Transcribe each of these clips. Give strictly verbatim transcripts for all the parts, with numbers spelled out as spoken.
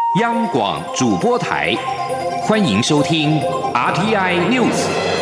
央广主播台，欢迎收听 R T I News。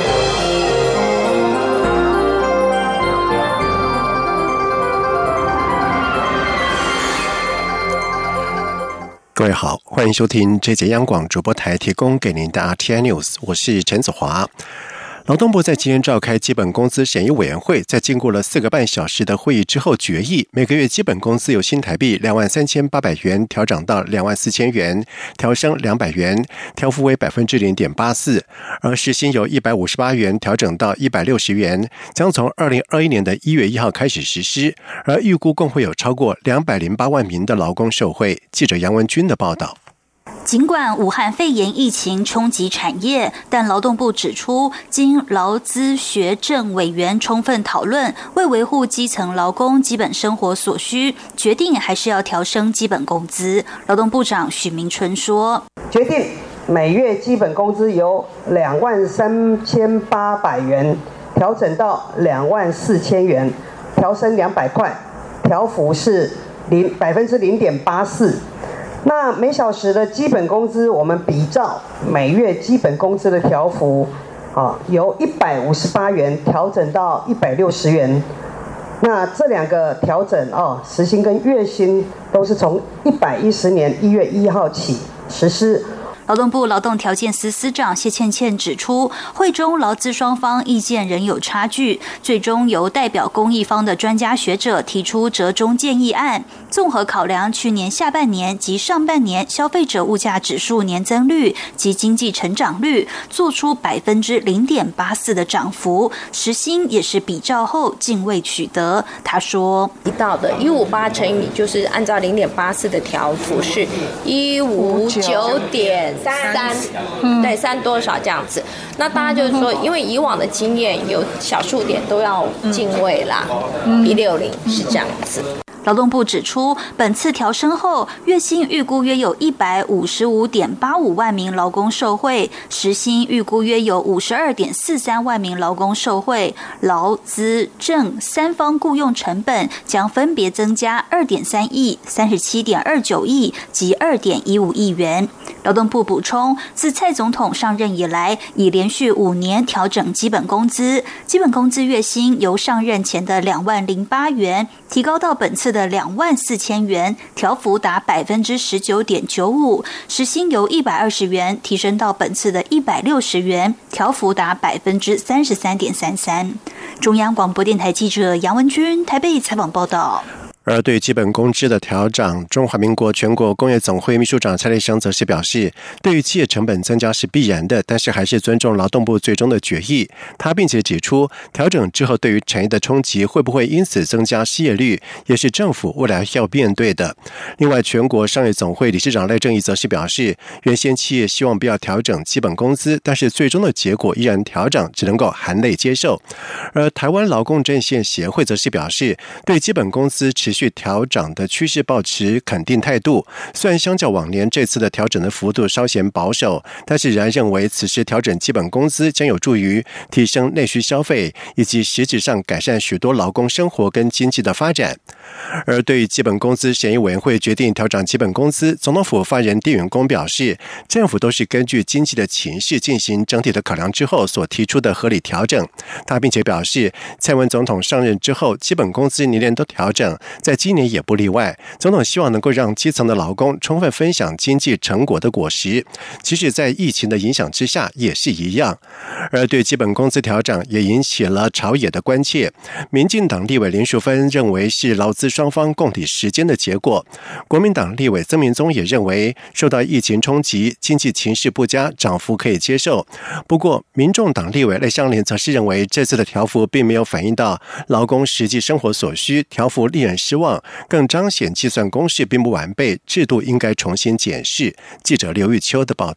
各位好，欢迎收听这节央广主播台提供给您的 R T I News， 我是陈子华。劳动部在今天召开基本工资审议委员会，在经过了四个半小时的会议之后决议，每个月基本工资由新台币两万三千八百元调涨到两万四千元，调升两百元，调幅为百分之零点八四，而时薪由一百五十八元调整到一百六十元，将从二零二一年的一月一号开始实施，而预估共会有超过两百零八万名的劳工受惠。记者杨文君的报道。 尽管武汉肺炎疫情冲击产业，但劳动部指出，经劳资学政委员充分讨论，为维护基层劳工基本生活所需，决定还是要调升基本工资。劳动部长许明春说：“ 决定每月基本工资由两万三千八百元调整到两万四千元，调升两百块，调幅是零百分之零点八四。”那每小时的基本工资，我们比照每月基本工资的调幅，啊，由一百五十八元调整到一百六十元。那这两个调整哦，时薪跟月薪都是从一百一十年一月一号起实施。 劳动部劳动条件司司长谢倩倩指出，会中劳资双方意见仍有差距，最终由代表公益方的专家学者提出折中建议案，综合考量去年下半年及上半年消费者物价指数年增率及经济成长率，做出百分之零点八四的涨幅，时薪也是比照后竟未取得。他说：“ 提到的一五八乘以就是按照零点八四的调幅是一五九点。”三，对，三多少这样子？那大家就是说，因为以往的经验有小数点都要进位啦，一六零是这样子。 劳动部指出，本次调升后，月薪预估约有一百五十五点八五万名劳工受惠，时薪预估约有五十二点四三万名劳工受惠，劳资政三方雇用成本将分别增加二点三亿、三十七点二九亿及二点一五亿元。劳动部补充，自蔡总统上任以来，已连续五年调整基本工资，基本工资月薪由上任前的两万零八元提高到本次的两万四千元，调幅达百分之十九点九五；时薪由一百二十元提升到本次的一百六十元，调幅达百分之三十三点三三。中央广播电台记者杨文君台北采访报道。 而对基本工资的调整，中华民国全国工业总会秘书长蔡立生则是表示，对于企业成本增加是必然的，但是还是尊重劳动部最终的决议。他并且指出，调整之后对于产业的冲击会不会因此增加失业率，也是政府未来要面对的。另外，全国商业总会理事长赖正颐则是表示，原先企业希望不要调整基本工资，但是最终的结果依然调整，只能够含泪接受。而台湾劳工阵线协会则是表示，对基本工资持续调整的趋势抱持肯定态度，虽然相较往年这次的调整的幅度稍显保守，但是仍然认为此时调整基本工资将有助于提升内需消费，以及实质上改善许多劳工生活跟经济的发展。而对于基本工资审议委员会决定调整基本工资，总统府发言人丁允恭表示，政府都是根据经济的情势进行整体的考量之后所提出的合理调整。他并且表示，蔡英文总统上任之后，基本工资年年都调整，在今年也不例外。总统希望能够让基层的劳工充分分享经济成果的果实，即使在疫情的影响之下也是一样。而对基本工资调整也引起了朝野的关切。民进党立委林淑芬认为是劳资双方共体时艰的结果，国民党立委曾明宗也认为受到疫情冲击，经济情势不佳，涨幅可以接受。不过民众党立委赖香伶则是认为这次的调幅并没有反映到劳工实际生活所需，调幅令人失望，更彰显计算公式并不完备，制度应该重新检视。记者刘玉秋的报道。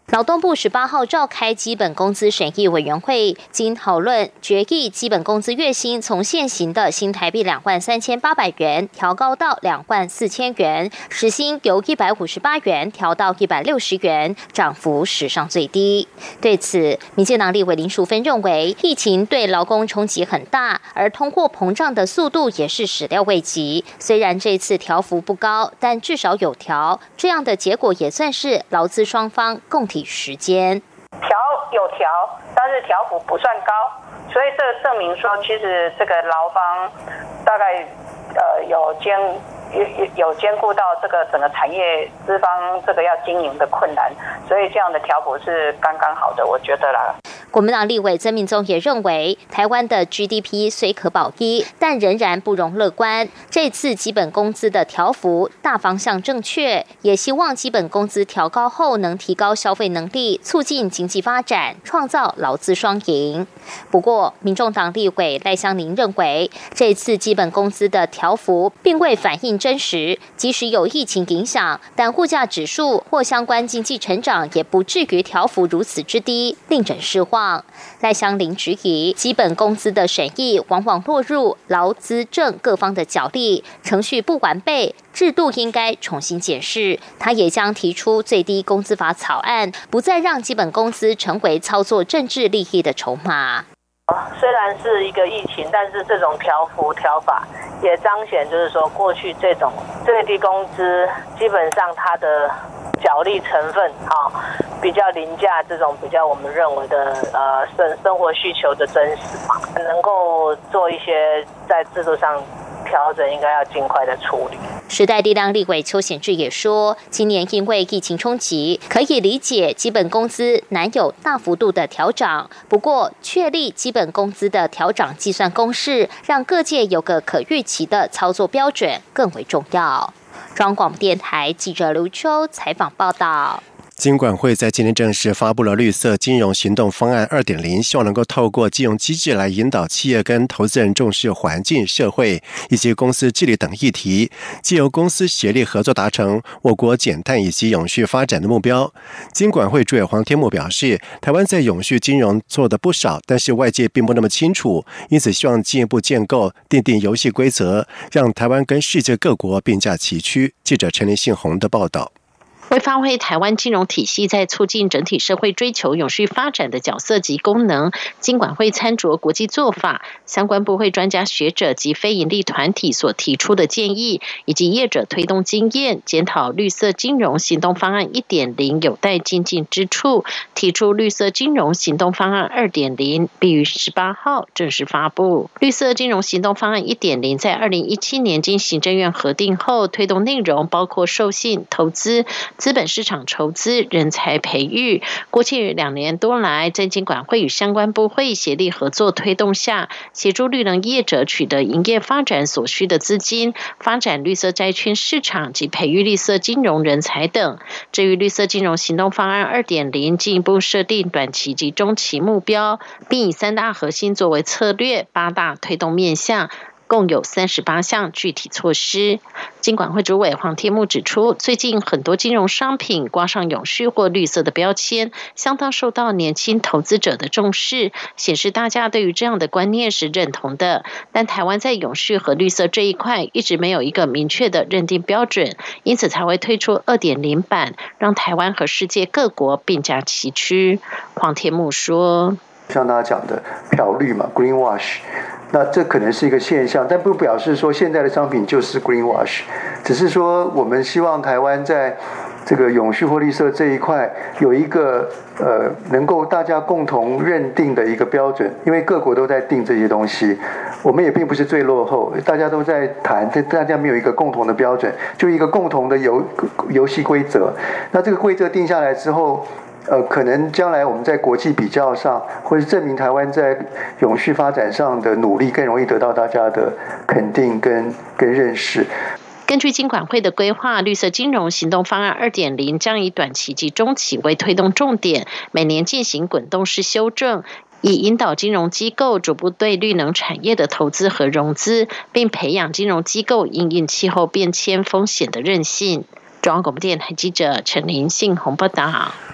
劳动部十八号召开基本工资审议委员会，经讨论决议，基本工资月薪从现行的新台币两万三千八百元调高到两万四千元，时薪由一百五十八元调到一百六十元，涨幅史上最低。对此，民进党立委林淑芬认为，疫情对劳工冲击很大，而通货膨胀的速度也是始料未及。虽然这次调幅不高，但至少有调，这样的结果也算是劳资双方共体时间。 调有调，但是调幅不算高，所以这证明说，其实这个劳方大概呃有兼有有兼顾到这个整个产业资方这个要经营的困难，所以这样的调幅是刚刚好的，我觉得啦。 国民党立委曾明宗也认为，台湾的 G D P 虽可保一，但仍然不容乐观。这次基本工资的调幅大方向正确，也希望基本工资调高后能提高消费能力，促进经济发展，创造劳资双赢。不过，民众党立委赖香伶认为，这次基本工资的调幅并未反映真实，即使有疫情影响，但物价指数或相关经济成长也不至于调幅如此之低，令人失望。赖香伶质疑，基本工资的审议往往落入劳资政各方的角力，程序不完备，制度应该重新检视。他也将提出最低工资法草案，不再让基本工资成为操作政治利益的筹码。 虽然是一个疫情，但是这种调幅调法也彰显，就是说过去这种最低工资基本上它的角力成分啊、哦，比较凌驾这种比较我们认为的呃生生活需求的真实嘛，能够做一些在制度上调整，应该要尽快的处理。 时代力量立委邱显智也说，今年因为疫情冲击，可以理解基本工资难有大幅度的调涨，不过确立基本工资的调涨计算公式，让各界有个可预期的操作标准更为重要。中央广播电台记者刘秋采访报道。 金管会在今天正式发布了绿色金融行动方案 二点零， 希望能够透过金融机制来引导企业跟投资人重视环境、社会以及公司治理等议题，藉由公司协力合作达成我国减碳以及永续发展的目标。金管会主委黄天牧表示，台湾在永续金融做得不少，但是外界并不那么清楚，因此希望进一步建构订定游戏规则，让台湾跟世界各国并驾齐驱。记者陈林信宏的报道。 为发挥台湾金融体系在促进整体社会追求永续发展的角色及功能，金管会参酌国际做法、相关部会专家学者及非营利团体所提出的建议，以及业者推动经验，检讨绿色金融行动方案 一点零 有待精进之处，提出绿色金融行动方案 二点零， 并于十八号正式发布。绿色金融行动方案 一点零 在二零一七年经行政院核定后，推动内容包括授信、投资、资本市场筹资、人才培育。过去两年多来，在金管会与相关部会协力合作推动下，协助绿能业者取得营业发展所需的资金，发展绿色债券市场及培育绿色金融人才等。至于绿色金融行动方案 二点零， 进一步设定短期及中期目标，并以三大核心作为策略，八大推动面向，共有三十八项具体措施。金管会主委黄天牧指出，最近很多金融商品挂上永续或绿色的标签，相当受到年轻投资者的重视，显示大家对于这样的观念是认同的。但台湾在永续和绿色这一块一直没有一个明确的认定标准，因此才会推出 二点零 版，让台湾和世界各国并驾齐驱。黄天牧说， 像大家讲的漂绿嘛 ，greenwash， 那这可能是一个现象，但不表示说现在的商品就是 greenwash， 只是说我们希望台湾在这个永续或绿色这一块有一个呃能够大家共同认定的一个标准，因为各国都在定这些东西，我们也并不是最落后，大家都在谈，但大家没有一个共同的标准，就一个共同的游游戏规则。那这个规则定下来之后，呃，可能将来我们在国际比较上，或是证明台湾在永续发展上的努力，更容易得到大家的肯定跟跟认识。 根据金管会的规划，绿色金融行动方案 二点零 将以短期及中期为推动重点，每年进行滚动式修正，以引导金融机构逐步对绿能产业的投资和融资，并培养金融机构因应气候变迁风险的韧性。中央广播电台记者陈林信宏报道。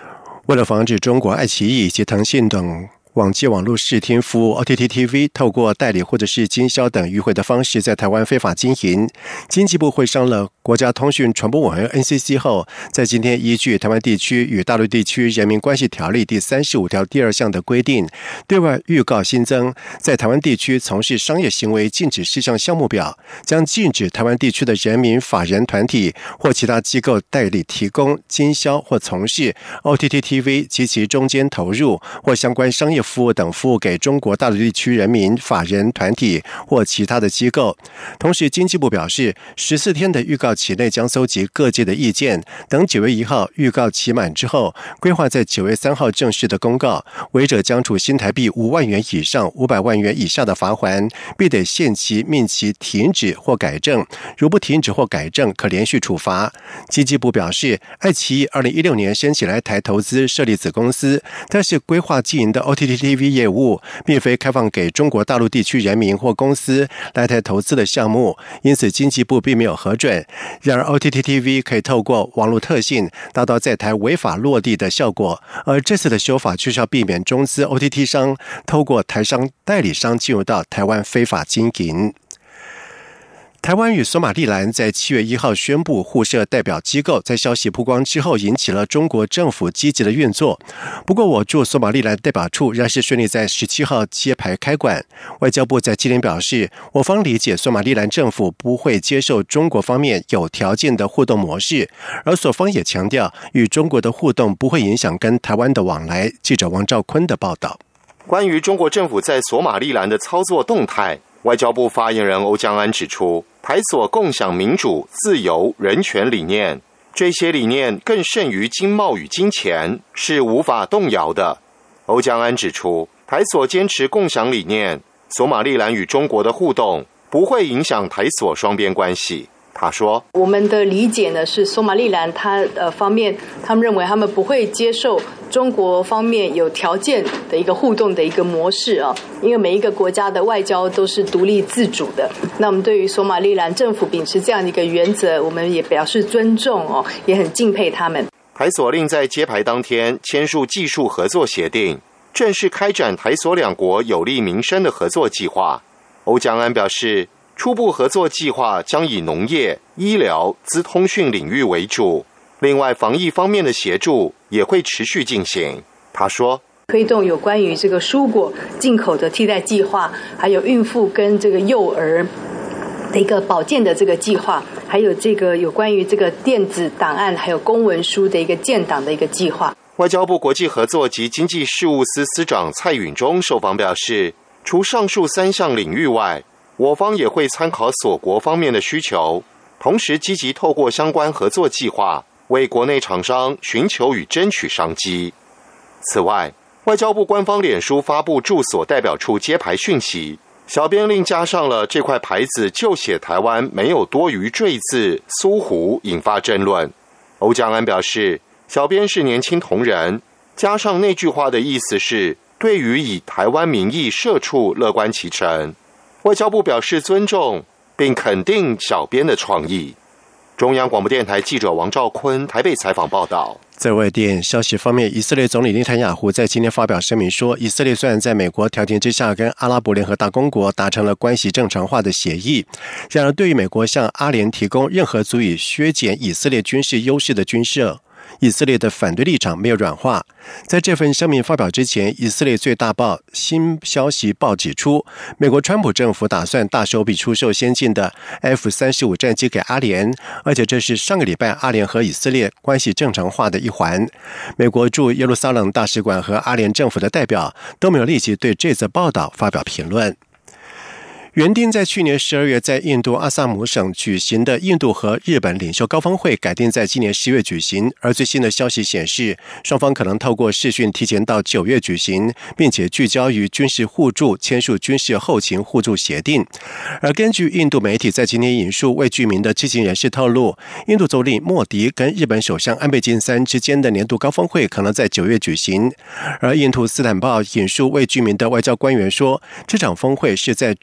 为了防止中国爱奇艺以及腾讯等网际网络视听服务 O T T T V 透过代理或者是经销等迂回的方式在台湾非法经营，经济部会商了国家通讯传播委员会 N C C 后，在今天依据《台湾地区与大陆地区人民关系条例》第三十五条第二项的规定，对外预告新增在台湾地区从事商业行为禁止事项项目表，将禁止台湾地区的人民法人团体或其他机构代理提供、经销或从事 O T T T V 及其中间投入或相关商业服务等服务给中国大陆地区人民法人团体或其他的机构。同时，经济部表示，十四天的预告期内将搜集各界的意见，等九月一号预告期满之后，规划在九月三号正式的公告，违者将处新台币五万元以上五百万元以下的罚锾，必得限期命其停止或改正，如不停止或改正，可连续处罚。经济部表示，爱奇艺二零一六年申请来台投资设立子公司，但是规划经营的 O T T T V 业务并非开放给中国大陆地区人民或公司来台投资的项目，因此经济部并没有核准。然而 O T T T V 可以透过网络特性达到在台违法落地的效果，而这次的修法就是要避免中资 O T T 商透过台商代理商进入到台湾非法经营。台湾与索马利兰在七月一号宣布互设代表机构，在消息曝光之后，引起了中国政府积极的运作。不过，我驻索马利兰代表处仍是顺利在十七号揭牌开馆。外交部在今天表示，我方理解索马利兰政府不会接受中国方面有条件的互动模式，而所方也强调，与中国的互动不会影响跟台湾的往来。记者王兆坤的报道。 关于中国政府在索马利兰的操作动态，外交部发言人欧江安指出，台所共享民主、自由、人权理念，这些理念更胜于经贸与金钱，是无法动摇的。欧江安指出，台所坚持共享理念，索马利兰与中国的互动不会影响台所双边关系。他说， 我们的理解呢是索马利兰他呃方面，他们认为他们不会接受中国方面有条件的一个互动的一个模式啊，因为每一个国家的外交都是独立自主的。那我们对于索马利兰政府秉持这样的一个原则，我们也表示尊重哦，也很敬佩他们。 台所另在揭牌当天签署技术合作协定，正式开展台所两国有利民生的合作计划。欧江安表示，初步合作计划将以农业、医疗、资通讯领域为主，另外防疫方面的协助也会持续进行。他说， 推动有关于这个蔬果进口的替代计划，还有孕妇跟这个幼儿的一个保健的这个计划，还有这个有关于这个电子档案还有公文书的一个建档的一个计划。 外交部国际合作及经济事务司司长蔡允中受访表示，除上述三项领域外，我方也会参考所国方面的需求，同时积极透过相关合作计划为国内厂商寻求与争取商机。此外，外交部官方脸书发布驻所代表处揭牌讯息，小编另加上了这块牌子就写台湾没有多余赘字苏湖，引发争论。欧江安表示，小编是年轻同仁，加上那句话的意思是对于以台湾民意社畜乐观其成。外交部表示尊重，并肯定小编的创意。中央广播电台记者王兆坤台北采访报道。 在外电消息方面，以色列总理内塔尼亚胡在今天发表声明说，以色列虽然在美国调停之下跟阿拉伯联合大公国达成了关系正常化的协议，然而对于美国向阿联提供任何足以削减以色列军事优势的军事，以色列的反对立场没有软化。在这份声明发表之前，以色列最大报新消息报指出，美国川普政府打算大手笔出售先进的 F 三十五 战机给阿联，而且这是上个礼拜阿联和以色列关系正常化的一环。美国驻耶路撒冷大使馆和阿联政府的代表都没有立即对这则报道发表评论。原定在去年十二月在印度阿萨姆省举行的印度和日本领袖高峰会改定在今年十月举行，而最新的消息显示，双方可能透过视讯提前到九月举行，并且聚焦于军事互助，签署军事后勤互助协定。而根据印度媒体在今天引述未具名的知情人士透露，印度总理莫迪跟日本首相安倍晋三之间的年度高峰会可能在九月举行。而印度斯坦报引述未具名的外交官员说，这场峰会是在中共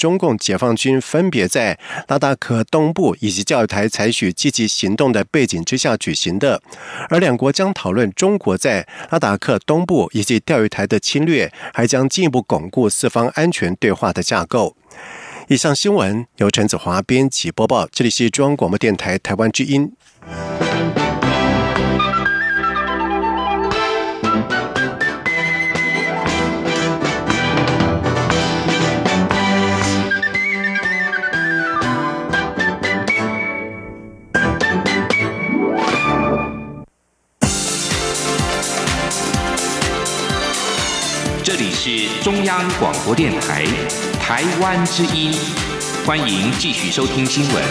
解放军分别在拉达克东部以及钓鱼台采取积极行动的背景之下举行的，而两国将讨论中国在拉达克东部以及钓鱼台的侵略，还将进一步巩固四方安全对话的架构。以上新闻由陈子华编辑播报，这里是中央广播电台台湾之音。 这里是中央广播电台台湾之音，欢迎继续收听新闻。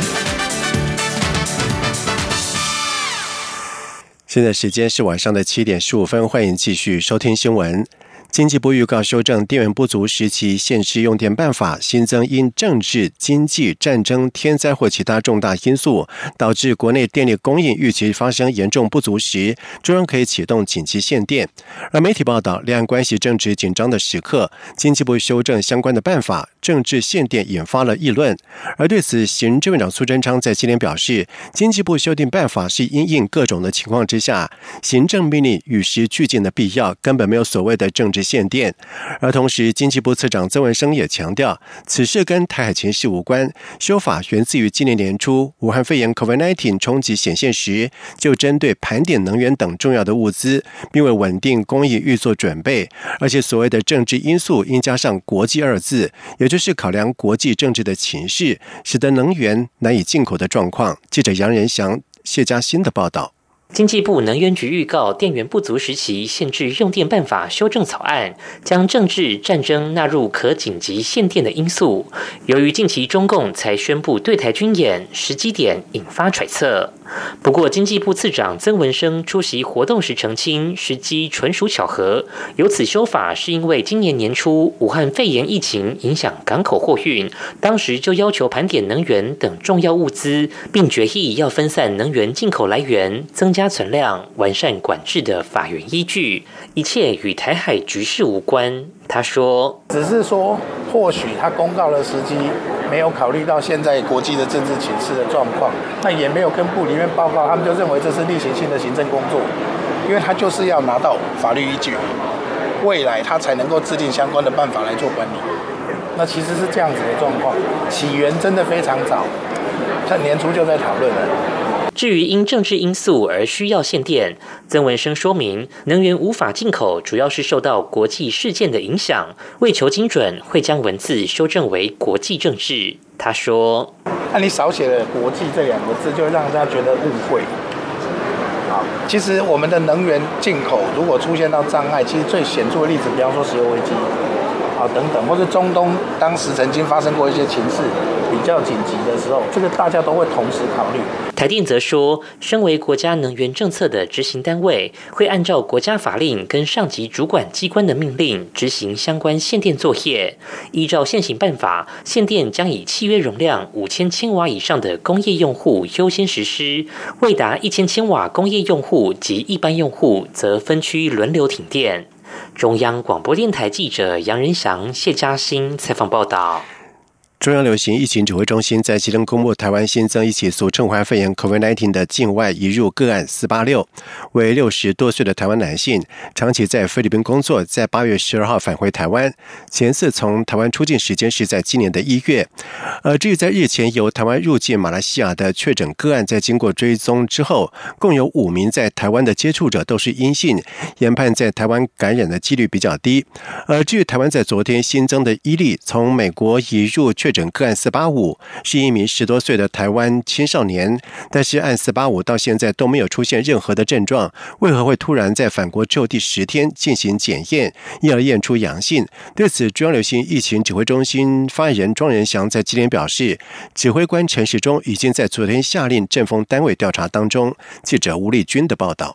现在时间是晚上的七点十五分，欢迎继续收听新闻。经济部预告修正电源不足时期限制用电办法，新增因政治、经济、战争、天灾或其他重大因素导致国内电力供应预期发生严重不足时，中央可以启动紧急限电。而媒体报道，两岸关系正值紧张的时刻，经济部修正相关的办法，政治限电引发了议论。而对此，行政院长苏贞昌在今天表示，经济部修订办法是因应各种的情况之下，行政命令与时俱进的必要，根本没有所谓的政治限电。而同时，经济部次长曾文生也强调，此事跟台海情势无关，修法源自于今年年初武汉肺炎 COVID 十九 冲击显现时，就针对盘点能源等重要的物资，并为稳定供应预做准备。而且所谓的政治因素应加上国际二字，也就是考量国际政治的情势，使得能源难以进口的状况。记者杨仁祥、谢嘉欣的报道。 经济部能源局预告，电源不足时期限制用电办法修正草案，将政治战争纳入可紧急限电的因素。由于近期中共才宣布对台军演，时机点引发揣测。不过，经济部次长曾文生出席活动时澄清，时机纯属巧合。有此修法是因为今年年初武汉肺炎疫情影响港口货运，当时就要求盘点能源等重要物资，并决议要分散能源进口来源，增加存量，完善管制的法源依据，一切与台海局势无关。他说：“ 只是说，或许他公告的时机没有考虑到现在国际的政治情势的状况，那也没有跟部里面报告，他们就认为这是例行性的行政工作，因为他就是要拿到法律依据，未来他才能够制定相关的办法来做管理。那其实是这样子的状况，起源真的非常早，在年初就在讨论了。” 至于因政治因素而需要限电，曾文生说明，能源无法进口主要是受到国际事件的影响，为求精准，会将文字修正为国际政治。他说：“ 那、啊、你少写了‘国际’这两个字，就让大家觉得误会。好，其实我们的能源进口如果出现到障碍，其实最显著的例子，比方说石油危机。”啊，等等，或者中东当时曾经发生过一些情势比较紧急的时候，这个大家都会同时考虑。 台电则说，身为国家能源政策的执行单位，会按照国家法令跟上级主管机关的命令执行相关限电作业。依照现行办法，限电将以契约容量五千千瓦以上的工业用户优先实施，未达一千千瓦工业用户及一般用户则分区轮流停电。中央广播电台记者杨仁祥、谢嘉欣采访报道。 中央流行疫情指挥中心在今天公布，台湾新增一起俗称武汉肺炎 COVID 十九 的境外移入个案四八六，为六十多岁的台湾男性，长期在菲律宾工作，在八月十二号返回台湾，前次从台湾出境时间是在今年的一月。而至于在日前由台湾入境马来西亚的确诊个案，在经过追踪之后，共有五名在台湾的接触者都是阴性，研判在台湾感染的几率比较低。而至于台湾在昨天新增的一例从美国移入确诊个案四八五，是一名十多岁的台湾青少年，但是按四八五到现在都没有出现任何的症状，为何会突然在返国之后第十天进行检验，因而验出阳性？对此，中央流行疫情指挥中心发言人庄仁祥在今天表示，指挥官陈时中已经在昨天下令政风单位调查当中。记者吴丽君的报道。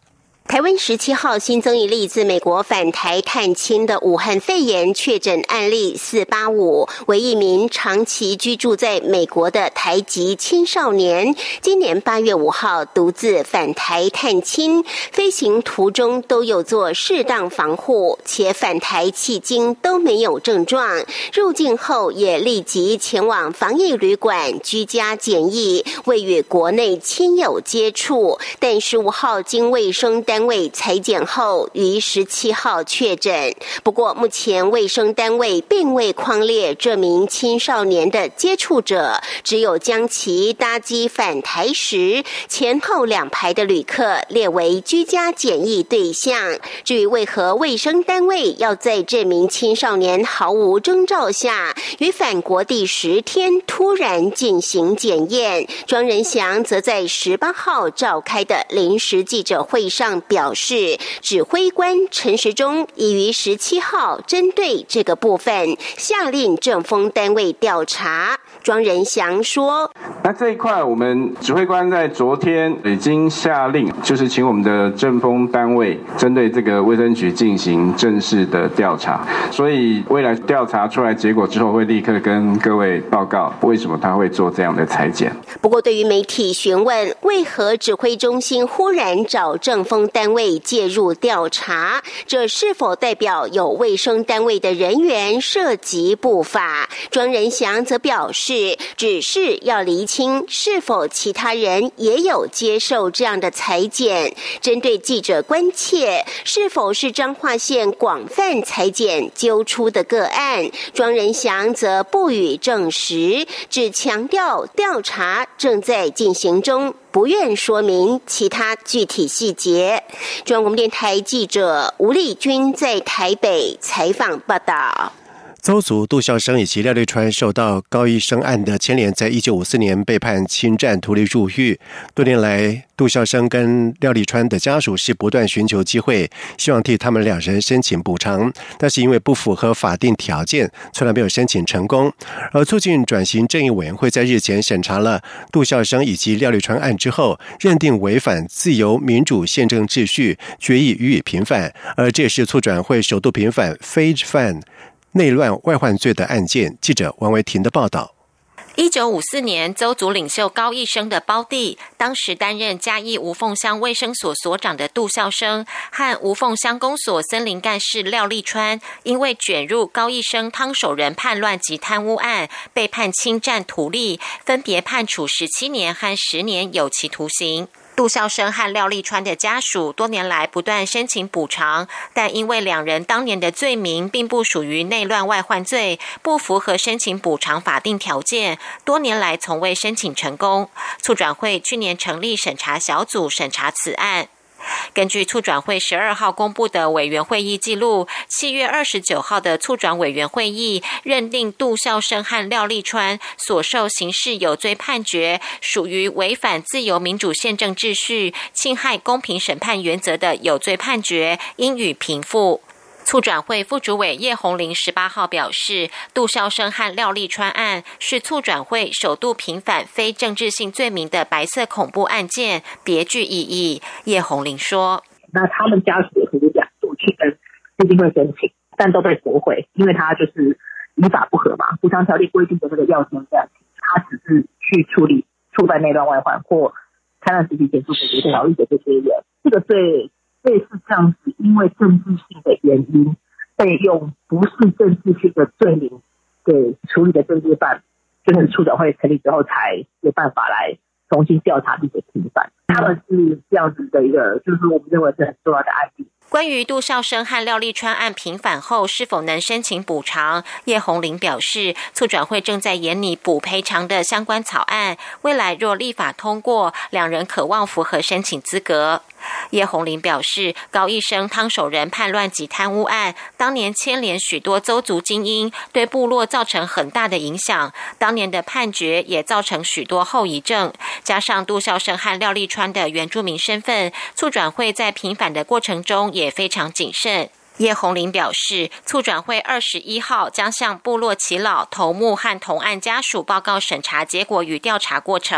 台湾十七号新增一例自美国返台探亲的武汉肺炎确诊案例四八五，为一名长期居住在美国的台籍青少年，今年八月五号独自返台探亲，飞行途中都有做适当防护，且返台迄今都没有症状，入境后也立即前往防疫旅馆居家检疫，未与国内亲友接触，但十五号经卫生单位裁检后于十七号确诊。不过目前卫生单位并未匡列这名青少年的接触者，只有将其搭机返台时前后两排的旅客列为居家检疫对象。至于为何卫生单位要在这名青少年毫无征兆下于返国第十天突然进行检验，庄仁祥则在十八号召开的临时记者会上表示，指挥官陈时中已于十七号针对这个部分下令政风单位调查。庄仁祥说， 那这一块我们指挥官在昨天已经下令，就是请我们的政风单位针对这个卫生局进行正式的调查，所以未来调查出来结果之后会立刻跟各位报告为什么他会做这样的裁剪。 不过对于媒体询问为何指挥中心忽然找政风单位介入调查，这是否代表有卫生单位的人员涉及不法，庄仁祥则表示，只是要厘清是否其他人也有接受这样的裁剪。针对记者关切是否是彰化县广泛裁剪揪出的个案，庄仁祥则不予证实，只强调调查正在进行中，不愿说明其他具体细节。中央广播电台记者吴丽君在台北采访报道。 邹族杜孝生以及廖立川受到高一生案的牵连，在一九五四年被判侵占图利入狱。多年来，杜孝生跟廖立川的家属是不断寻求机会，希望替他们两人申请补偿，但是因为不符合法定条件，从来没有申请成功。而促进转型正义委员会在日前审查了杜孝生以及廖立川案之后，认定违反自由民主宪政秩序，决议予以平反。而这也是促转会首度平反非犯内乱外患罪的案件。记者王维婷的报道。 一九五四年，邹族领袖高一生的胞弟，当时担任嘉义无凤乡卫生所所长的杜孝生和无凤乡公所森林干事廖立川，因为卷入高一生汤守仁叛乱及贪污案，被判侵占土地，分别判处十七年和十年有期徒刑。杜孝生和廖立川的家属多年来不断申请补偿，但因为两人当年的罪名并不属于内乱外患罪，不符合申请补偿法定条件，多年来从未申请成功。促转会去年成立审查小组审查此案。根据促转会十二号公布的委员会议记录，七月二十九号的促转委员会议认定杜孝生和廖立川所受刑事有罪判决属于违反自由民主宪政秩序、侵害公平审判原则的有罪判决，应予平复。促转会副主委叶红玲十八号表示，杜孝生和廖立川案是促转会首度平反非政治性罪名的白色恐怖案件，别具意义。叶红玲说， 那他们家属也可以两度去跟基金会申请，但都被驳回，因为他就是依法不合嘛，补偿条例规定的这个要件这样，他只是去处理触犯内乱外患或贪婪实体减速补偿条例的这些人，这个罪类似这样子，因为政治性的原因被用不是政治性的罪名给处理的政治犯，就是促转会成立之后才有办法来重新调查并且平反。他们是这样子的一个，就是我们认为是很重要的案例。 关于杜孝生和廖立川案平反后是否能申请补偿，叶红玲表示，促转会正在研拟补赔偿的相关草案，未来若立法通过，两人可望符合申请资格。叶红玲表示，高一生汤守仁叛乱及贪污案当年牵连许多邹族精英，对部落造成很大的影响，当年的判决也造成许多后遗症，加上杜孝生和廖立川的原住民身份，促转会在平反的过程中也非常谨慎。叶红玲表示，促转会二十一号将向部落耆老、头目和同案家属报告审查结果与调查过程。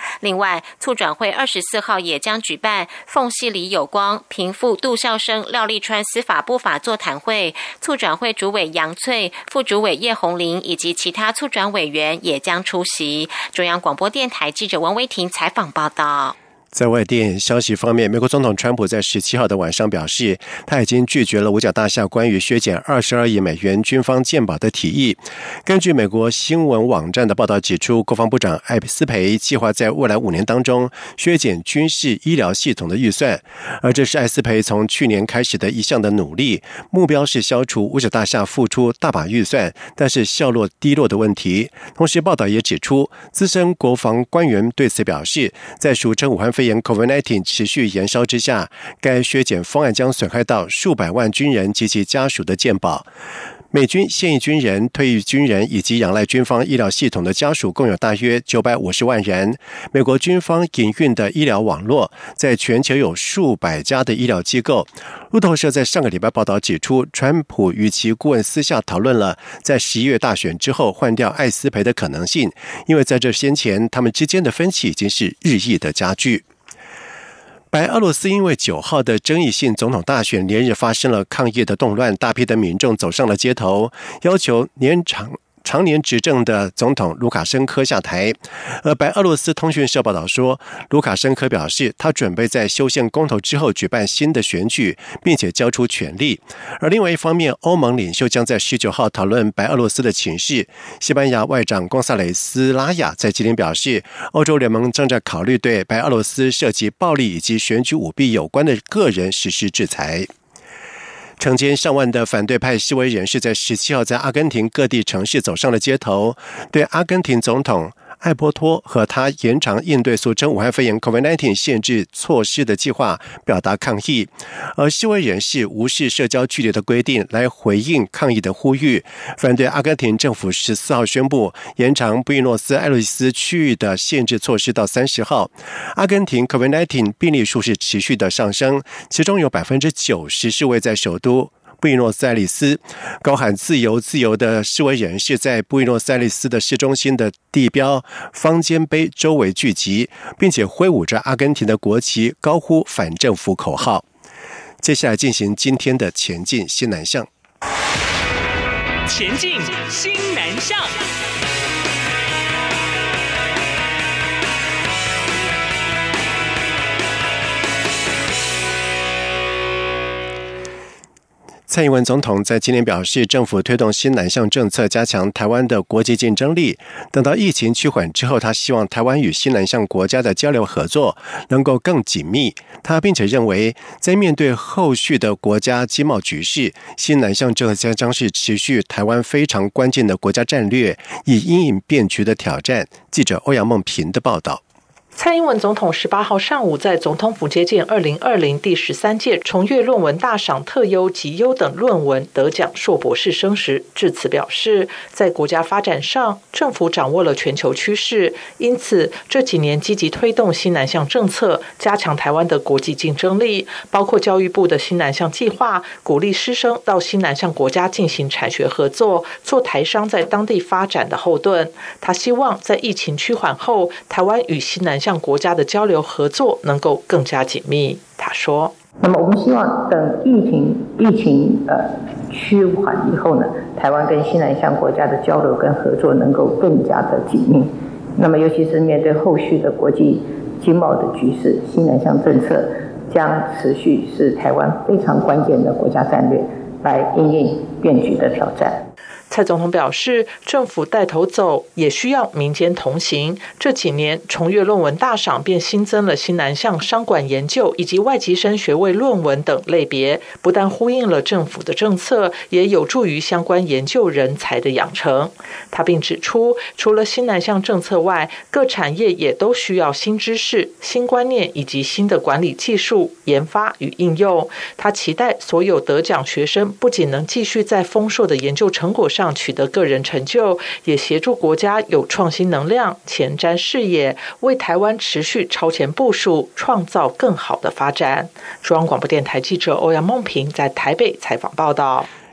另外，促转会二十四号也将举办缝隙里有光平复杜孝生、廖立川司法不法座谈会，促转会主委杨翠、副主委叶红玲以及其他促转委员也将出席。中央广播电台记者王维婷采访报道。 在外电消息方面，美国总统川普在十七号的晚上表示，他已经拒绝了五角大厦关于削减二十二亿美元军方健保的提议。根据美国新闻网站的报道指出，国防部长艾斯培计划在未来五年当中削减军事医疗系统的预算，而这是艾斯培从去年开始的一项的努力，目标是消除五角大厦付出大把预算，但是效落低落的问题。同时，报道也指出，资深国防官员对此表示，在俗称武汉肺炎 COVID 十九 持续延烧之下，该削减方案将损害到数百万军人及其家属的健保。美军现役军人、退役军人以及仰赖军方医疗系统的家属共有大约九百五十万人。美国军方营运的医疗网络在全球有数百家的医疗机构。路透社在上个礼拜报道指出，川普与其顾问私下讨论了在十一月大选之后换掉艾斯培的可能性，因为在这先前他们之间的分歧已经是日益的加剧。白俄罗斯因为九号的争议性总统大选连日发生了抗议的动乱，大批的民众走上了街头，要求年长常年执政的总统卢卡申科下台。而白俄罗斯通讯社报道说，卢卡申科表示他准备在修宪公投之后举办新的选举，并且交出权力。而另外一方面，欧盟领袖将在十九号讨论白俄罗斯的情势。西班牙外长贡萨雷斯拉亚在今天表示，欧洲联盟正在考虑对白俄罗斯涉及暴力以及选举舞弊有关的个人实施制裁。成千上万的反对派示威人士在十七号在阿根廷各地城市走上了街头，对阿根廷总统艾波托和他延长应对俗称武汉肺炎 COVID 十九 限制措施的计划表达抗议。而示威人士无视社交距离的规定来回应抗议的呼吁，反对阿根廷政府十四号宣布延长布宜诺斯艾利斯区域的限制措施到三十号。阿根廷 COVID 十九 病例数是持续的上升，其中有 百分之九十 是位在首都布宜诺斯艾利斯。高喊自由自由的示威人士在布宜诺斯艾利斯的市中心的地标方尖碑周围聚集，并且挥舞着阿根廷的国旗，高呼反政府口号。接下来进行今天的前进新南向。 前进新南向。 蔡英文总统在今年表示，政府推动新南向政策，加强台湾的国际竞争力。等到疫情趋缓之后，他希望台湾与新南向国家的交流合作能够更紧密。他并且认为，在面对后续的国家经贸局势，新南向政策将是持续台湾非常关键的国家战略，以因应变局的挑战。记者欧阳梦平的报道。 蔡英文总统十八号上午在总统府接见二零二零第十三届重阅论文大赏特优及优等论文得奖硕博士生时，致辞表示，在国家发展上，政府掌握了全球趋势，因此这几年积极推动新南向政策，加强台湾的国际竞争力，包括教育部的新南向计划，鼓励师生到新南向国家进行产学合作，做台商在当地发展的后盾。他希望在疫情趋缓后，台湾与新南向向国家的交流合作能够更加紧密。他说：“ 那么我们希望等疫情疫情呃趋缓以后呢，台湾跟新南向国家的交流跟合作能够更加的紧密。那么尤其是面对后续的国际经贸的局势，新南向政策将持续是台湾非常关键的国家战略，来因应变局的挑战。” 蔡总统表示，政府带头走，也需要民间同行。这几年，重阅论文大赏便新增了新南向商管研究以及外籍生学位论文等类别，不但呼应了政府的政策，也有助于相关研究人才的养成。他并指出，除了新南向政策外，各产业也都需要新知识、新观念以及新的管理技术研发与应用。他期待所有得奖学生不仅能继续在丰硕的研究成果上取得个人成就，也协助国家有创新能量、前瞻视野，为台湾持续超前部署，创造更好的发展。中央广播电台记者欧阳梦平在台北采访报道。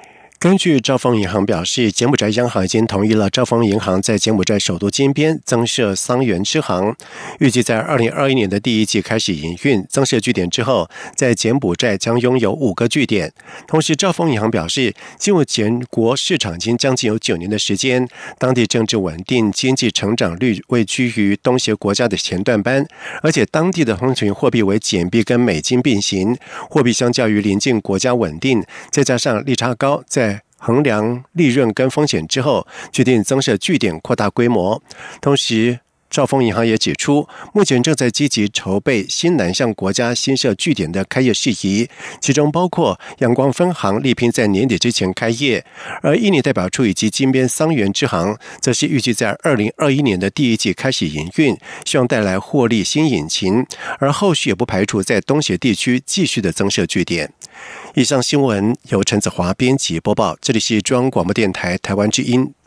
根据兆丰银行表示，柬埔寨央行已经同意了兆丰银行在柬埔寨首都金边增设桑园支行，预计在二零二一年的第一季开始营运。增设据点之后，在柬埔寨将拥有五个据点。同时，兆丰银行表示，进入柬国市场已经将近有九年的时间，当地政治稳定，经济成长率位居于东协国家的前段班，而且当地的通行货币为简币跟美金并行，货币相较于邻近国家稳定，再加上利差高，在衡量利润跟风险之后，决定增设据点，扩大规模。同时，兆丰银行也指出，目前正在积极筹备新南向国家新设据点的开业事宜，其中包括阳光分行力拼在年底之前开业，而印尼代表处以及金边桑园支行则是预计在二零二一年的第一季开始营运，希望带来获利新引擎，而后续也不排除在东协地区继续的增设据点。以上新闻由陈子华编辑播报，这里是中央广播电台台湾之音。